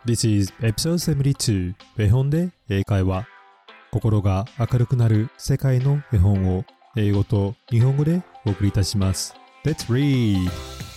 This is episode 72 絵本で英会話。心が明るくなる世界の絵本を英語と日本語でお送りいたします。Let's read!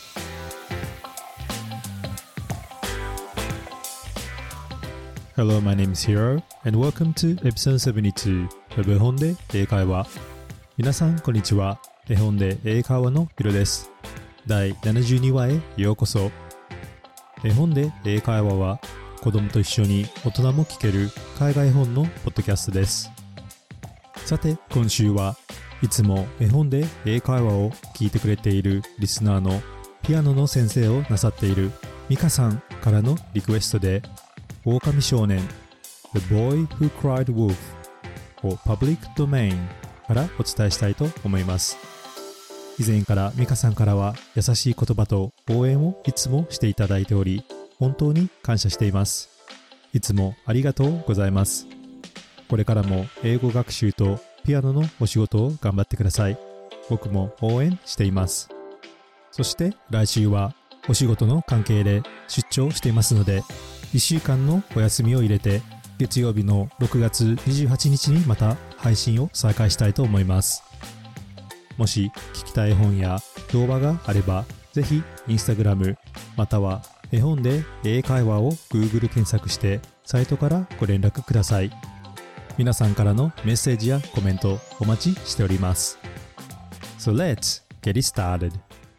Hello, my name is Hiro and welcome to episode 72 of 絵本で英会話。皆さんこんにちは。絵本で英会話のヒロです。第72話へようこそ。絵本で英会話は子供と一緒に大人も聞ける海外本のポッドキャストです。さて今週はいつも絵本で英会話を聞いてくれているリスナーのピアノの先生をなさっているミカさんからのリクエストで狼少年 The Boy Who Cried Wolf を Public Domain からお伝えしたいと思います。以前からミカさんからは優しい言葉と応援をいつもしていただいており本当に感謝しています。いつもありがとうございます。これからも英語学習とピアノのお仕事を頑張ってください。僕も応援しています。そして来週はお仕事の関係で出張していますので1週間のお休みを入れて月曜日の6月28日にまた配信を再開したいと思います。もし聞きたい本や動画があればぜひインスタグラムまたは絵本で英会話を Google 検索してサイトからご連絡ください。皆さんからのメッセージやコメントお待ちしております。So let's get it started.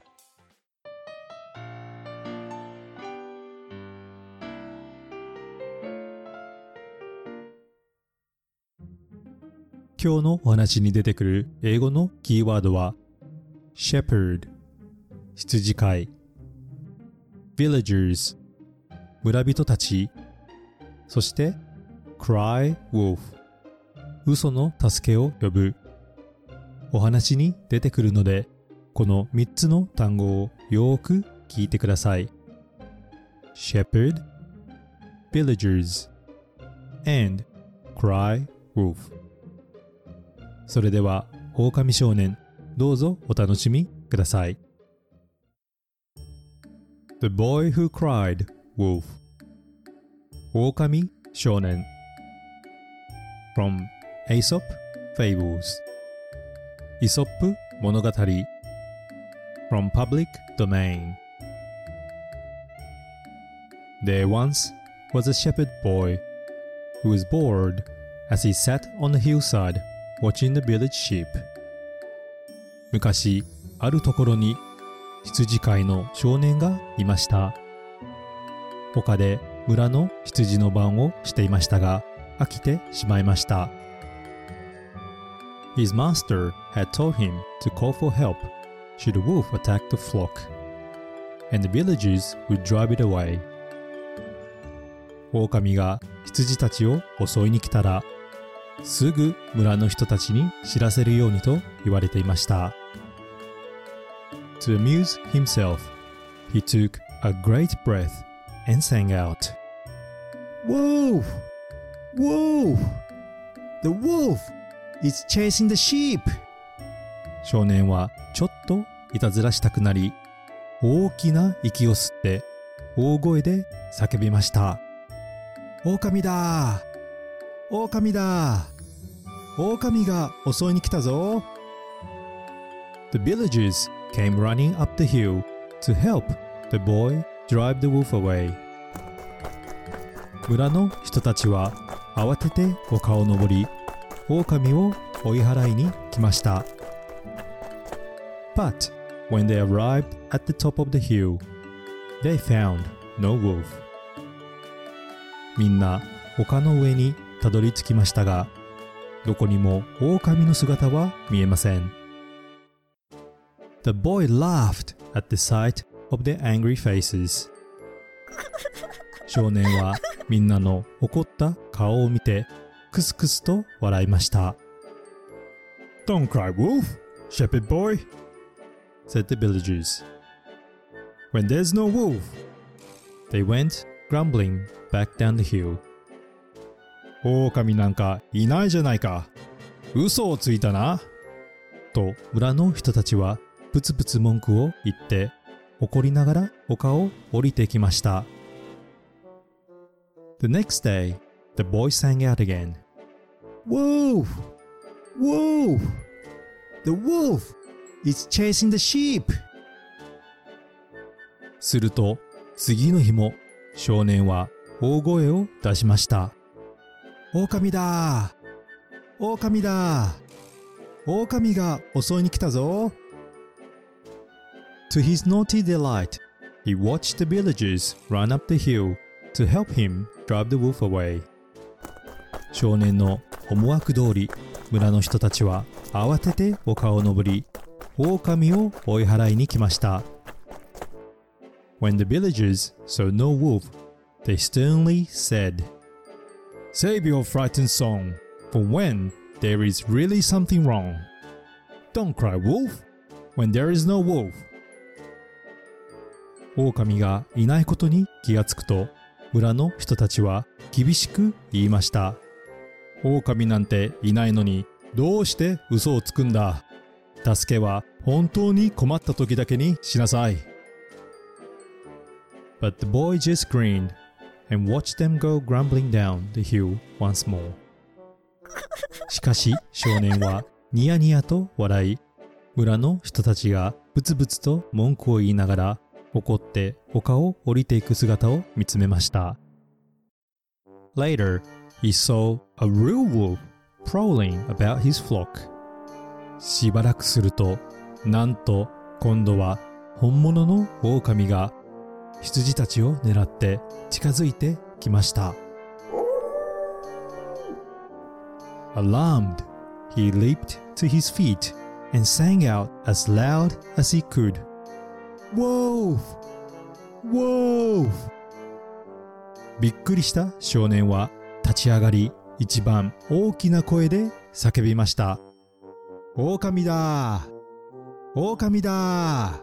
今日のお話に出てくる英語のキーワードは Shepherd 羊飼いVillagers 村人たちそして Cry Wolf 嘘の助けを呼ぶお話に出てくるのでこの3つの単語をよーく聞いてください Shepherd Villagers and Cry Wolf それでは狼少年どうぞお楽しみくださいThe Boy Who Cried Wolf 狼少年 From Aesop Fables イソップ物語 From Public Domain There once was a shepherd boy who was bored as he sat on the hillside watching the village sheep 昔あるところに羊飼いの少年がいました。丘で村の羊の番をしていましたが、飽きてしまいました。His master had told him to call for help should a wolf attack the flock, and the villagers would drive it away. 狼が羊たちを襲いに来たら、すぐ村の人たちに知らせるようにと言われていました。To amuse himself, he took a great breath and sang out, Wolf! Wolf! The wolf is chasing the sheep! 少年はちょっといたずらしたくなり、大きな息を吸って大声で叫びました。狼だ！狼だ！狼が襲いに来たぞ！ The villagers came running up the hill to help the boy drive the wolf away. 村の人たちは慌てて丘を登り、狼を追い払いに来ました。But when they arrived at the top of the hill, they found no wolf. みんな丘の上にたどり着きましたが、どこにも狼の姿は見えません。The boy laughed at the sight of their angry faces. 少年はみんなの怒った顔を見てクスクスと笑いました。Don't cry, wolf, shepherd boy, said the villagers. When there's no wolf, they went grumbling back down the hill. 狼なんかいないじゃないか。嘘をついたな。と村の人たちはブツブツ文句を言って怒りながら丘を降りてきました。 The next day, the boy sang out again. Wolf! Wolf! The wolf is chasing the sheep! すると、次の日も少年は大声を出しました。狼だ！狼だ！狼が襲いに来たぞ！ To his naughty delight, he watched the villagers run up the hill to help him drive the wolf away. 少年の思惑通り、村の人たちは慌てて丘を登り、狼を追い払いに来ました。When the villagers saw no wolf, they sternly said, Save your frightened song, for when there is really something wrong. Don't cry wolf, when there is no wolf. 狼がいないことに気がつくと、村の人たちは厳しく言いました。狼なんていないのにどうして嘘をつくんだ。助けは本当に困った時だけにしなさい。But the boy just grinned and watched them go grumbling down the hill once more. しかし少年はニヤニヤと笑い、村の人たちがブツブツと文句を言いながら怒って丘を降りていく姿を見つめました。Later, he saw a real wolf prowling about his flock. しばらくすると、なんと今度は本物の狼が羊たちを狙って近づいてきました。Alarmed, he leaped to his feet and sang out as loud as he could. Wolf! Wolf! びっくりした少年は立ち上がり、一番大きな声で叫びました。狼だ！狼だ！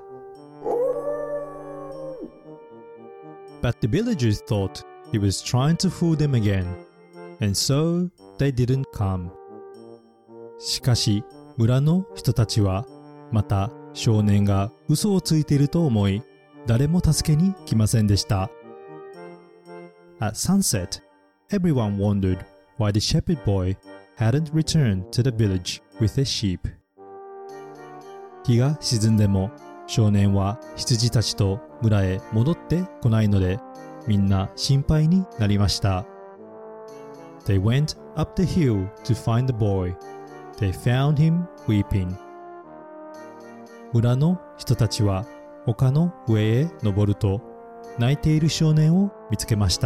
But the villagers thought he was trying to fool them again, and so they didn't come. しかし村の人たちはまた少年が嘘をついていると思い、誰も助けに来ませんでした。At sunset, everyone wondered why the shepherd boy hadn't returned to the village with the sheep. 日が沈んでも少年は羊たちと村へ戻ってこないので、みんな心配になりました。They went up the hill to find the boy. They found him weeping. 村の人たちは丘の上へ登ると、泣いている少年を見つけました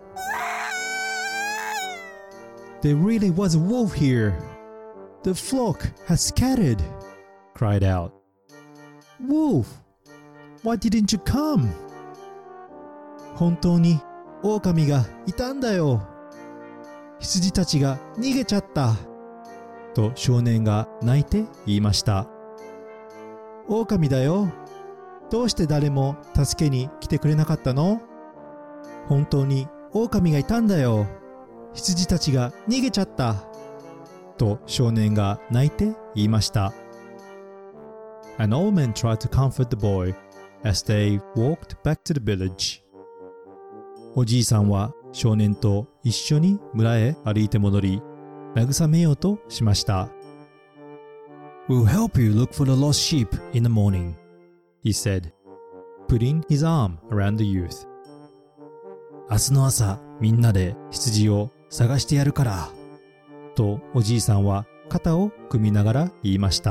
。There really was a wolf here. The flock has scattered, cried out. Wolf, why didn't you come? 本当に狼がいたんだよ。羊たちが逃げちゃった。と少年が泣いて言いました。狼だよ。どうして誰も助けに来てくれなかったの？本当に狼がいたんだよ。羊たちが逃げちゃった。と少年が泣いて言いました。An old man tried to comfort the boy as they walked back to the village. おじいさんは少年と一緒に村へ歩いて戻り、慰めようとしました。We'll help you look for the lost sheep in the morning, he said, putting his arm around the youth. 明日の朝、みんなで羊を探してやるから。とおじいさんは肩を組みながら言いました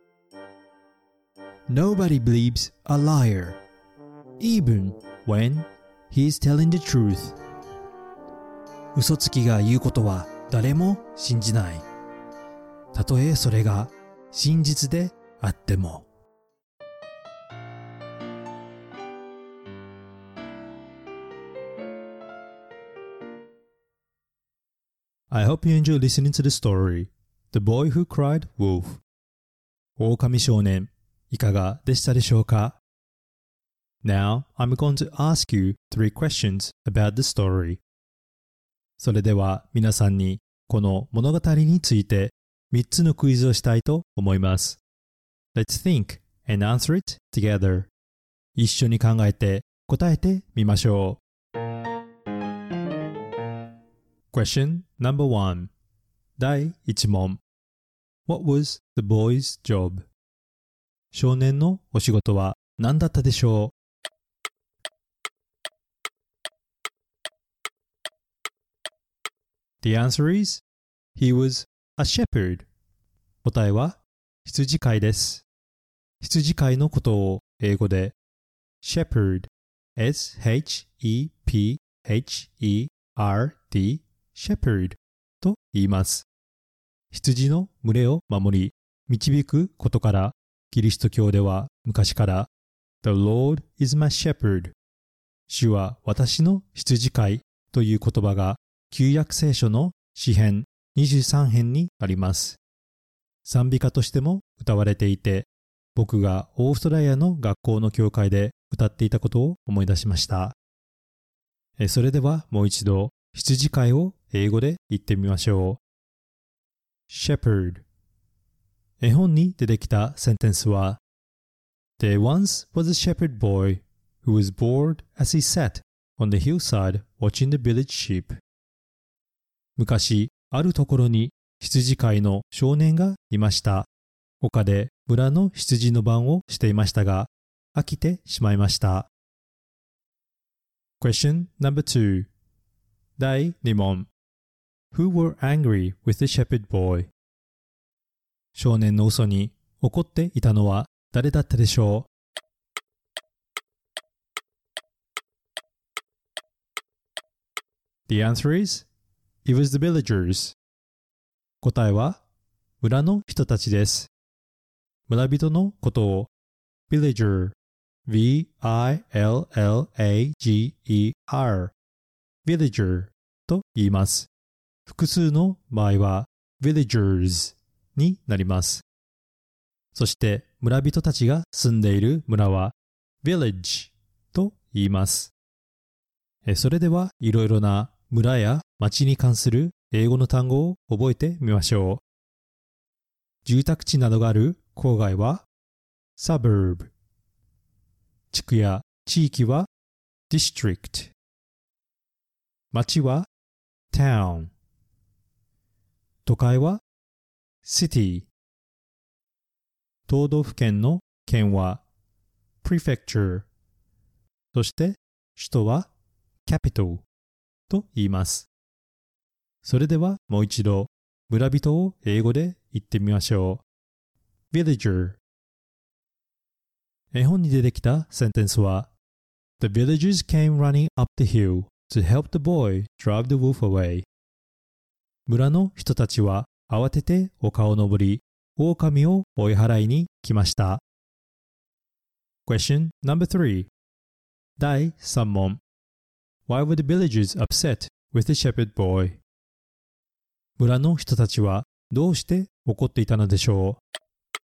。Nobody believes a liar, even when he is telling the truth. 嘘つきが言うことは誰も信じない。たとえそれが真実であっても。I hope you enjoy listening to the story, The Boy Who Cried Wolf. 狼少年、いかがでしたでしょうか？ Now, I'm going to ask you 3 questions about the story. それでは皆さんにこの物語について3つのクイズをしたいと思います。Let's think and answer it together. 一緒に考えて答えてみましょう。 Question number 1. 第1問。What was the boy's job? 少年のお仕事は何だったでしょう？ The answer is, he was a shepherd. 答えは羊飼いです。羊飼いのことを英語で shepherd, S-H-E-P-H-E-R-D, shepherd と言います。羊の群れを守り、導くことから、キリスト教では昔から The Lord is my shepherd. 主は私の羊飼いという言葉が旧約聖書の詩編23編にあります。賛美歌としても歌われていて、僕がオーストラリアの学校の教会で歌っていたことを思い出しました。それではもう一度羊飼いを英語で言ってみましょう。Shepherd。絵本に出てきたセンテンスは There once was a shepherd boy who was bored as he sat on the hillside watching the village sheep. 昔あるところに羊飼いの少年がいました。丘で村の羊の番をしていましたが、飽きてしまいました。Question number 2. 第2問。Who were angry with the shepherd boy? 少年の嘘に怒っていたのは誰だったでしょう？ The answer is, it was the villagers. 答えは村の人たちです。村人のことを villager, V-I-L-L-A-G-E-R, villager と言います。複数の場合は villagers になります。そして村人たちが住んでいる村は village と言います。それではいろいろな村や町に関する英語の単語を覚えてみましょう。住宅地などがある郊外は suburb。地区や地域は district。町は town。都会は city。都道府県の県は prefecture。そして首都は capital と言います。それではもう一度村人を英語で言ってみましょう。villager。絵本に出てきたセンテンスは The villagers came running up the hill to help the boy drive the wolf away。村の人たちは慌てて丘を登り、狼を追い払いに来ました。Question number 3. 第3問。Why were the villagers upset with the shepherd boy? 村の人たちはどうして怒っていたのでしょう？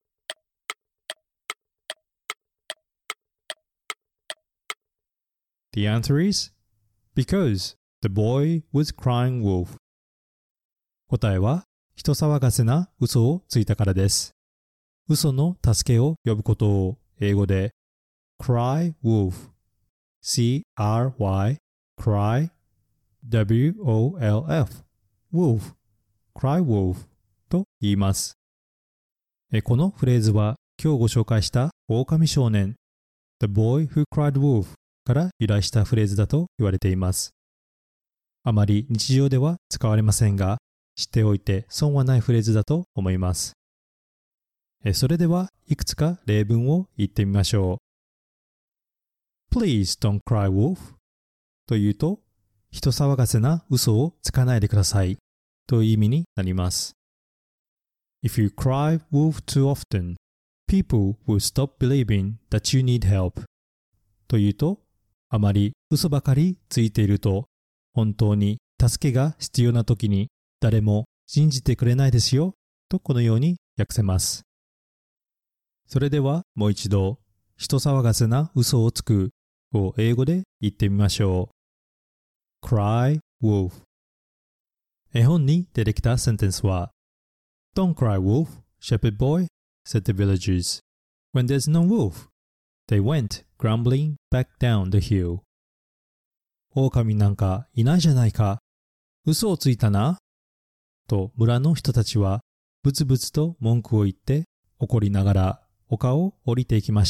The answer is, because the boy was crying wolf. 答えは、人騒がせな嘘をついたからです。嘘の助けを呼ぶことを英語で cry wolf, C-R-Y, cry, W-O-L-F, wolf, cry wolf と言います。このフレーズは今日ご紹介した狼少年 The boy who cried wolf から由来したフレーズだと言われています。あまり日常では使われませんが、知っておいて損はないフレーズだと思います。それではいくつか例文を言ってみましょう。Please don't cry wolf というと、人騒がせな嘘をつかないでくださいという意味になります。If you cry wolf too often, people will stop believing that you need help というと、あまり嘘ばかりついていると、本当に助けが必要な時に誰も信じてくれないですよとこのように訳せます。それではもう一度、人騒がせな嘘をつくを英語で言ってみましょう。cry wolf。絵本に出てきたセンテンスは Don't cry wolf, shepherd boy, said the villagers. When there's no wolf, they went grumbling back down the hill. 狼なんかいないじゃないか。 嘘をついたな。と村の人たちはブツブツと文句を言って怒りながら丘を降りていきました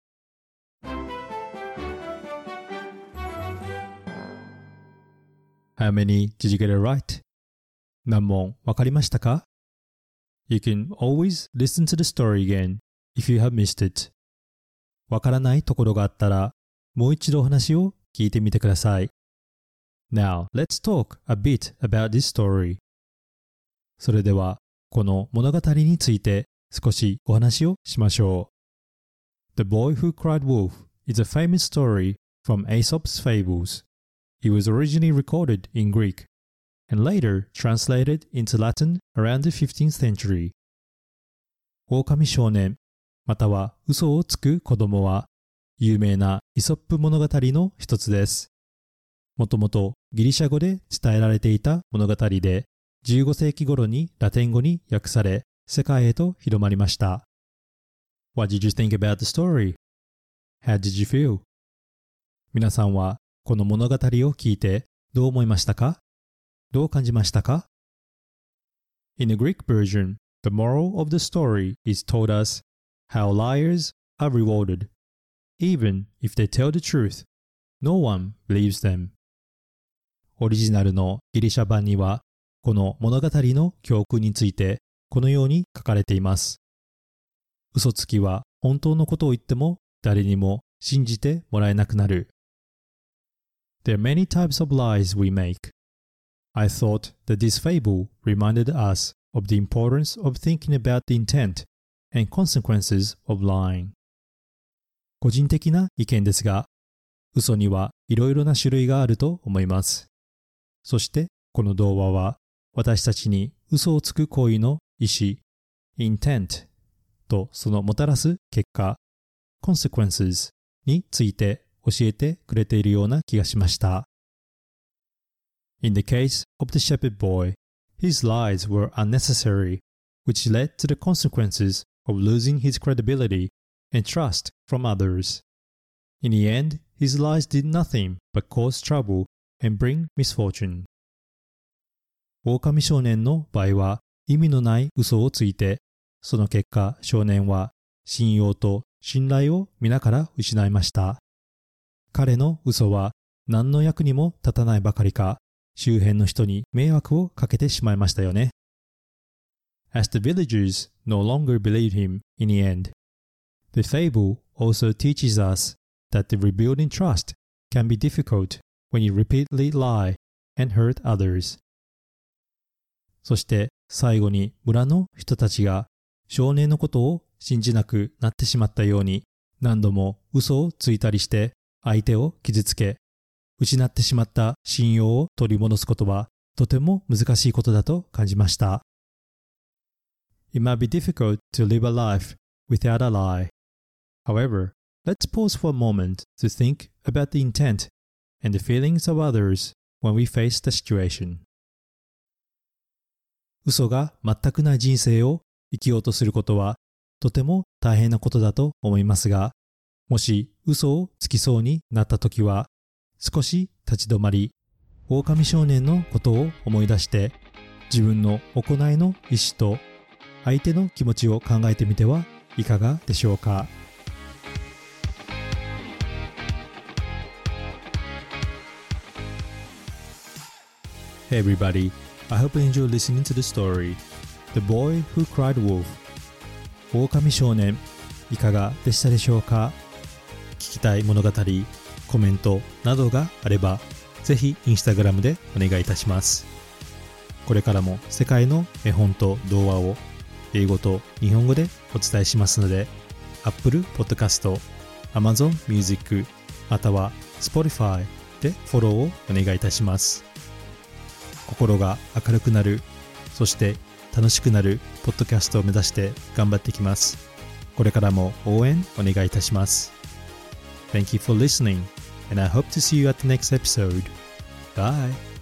。How many did you get it right? 何問わかりましたか？ You can always listen to the story again if you have missed it. わからないところがあったらもう一度お話を聞いてみてください。Now, let's talk a bit about this story. それでは、この物語について少しお話をしましょう。The Boy Who Cried Wolf is a famous story from Aesop's Fables. It was originally recorded in Greek and later translated into Latin around the 15th century. 狼少年または嘘をつく子供は有名なイソップ物語の一つです。もともとギリシャ語で伝えられていた物語で15世紀頃にラテン語に訳され世界へと広まりました。What did you think about the story? How did you feel? 皆さんはこの物語を聞いてどう思いましたか？どう感じましたか？ In the Greek version, the moral of the story is told us how liars are rewarded. Even if they tell the truth, no one believes them. オリジナルのギリシャ版にはこの物語の教訓についてこのように書かれています。嘘つきは本当のことを言っても誰にも信じてもらえなくなる。There are many types of lies we make. I thought that this fable reminded us of the importance of thinking about the intent and consequences of lying. 個人的な意見ですが、嘘にはいろいろな種類があると思います。そしてこの童話は私たちに嘘をつく行為の意思、intent とそのもたらす結果、consequences について教えてくれているような気がしました。In the case of the shepherd boy, his lies were unnecessary, which led to the consequences of losing his credibility and trust from others. In the end, his lies did nothing but cause trouble and bring misfortune. 狼少年の場合は意味のない嘘をついて、その結果少年は信用と信頼を皆から失いました。彼の嘘は何の役にも立たないばかりか、周辺の人に迷惑をかけてしまいましたよね。As the villagers no longer believed him in the end, the fable also teaches us that the rebuilding trust can be difficult when you repeatedly lie and hurt others. そして最後に村の人たちが少年のことを信じなくなってしまったように何度も嘘をついたりして相手を傷つけ失ってしまった信用を取り戻すことはとても難しいことだと感じました。It might be difficult to live a life without a lie. However, let's pause for a moment to think about the intent and the feelings of others when we face the situation. 嘘が全くない人生を生きようとすることはとても大変なことだと思いますが、もし嘘をつきそうになったときは、少し立ち止まり、狼少年のことを思い出して、自分の行いの意思と相手の気持ちを考えてみてはいかがでしょうか。Hey everybody, I hope you enjoyed listening to the story, The Boy Who Cried Wolf. 狼少年、いかがでしたでしょうか。聞きたい物語、コメントなどがあれば、ぜひインスタグラムでお願いいたします。これからも世界の絵本と童話を英語と日本語でお伝えしますので、Apple Podcast、Amazon Music、または Spotify でフォローをお願いいたします。心が明るくなる、そして楽しくなるポッドキャストを目指して頑張っていきます。これからも応援お願いいたします。Thank you for listening, and I hope to see you at the next episode. Bye!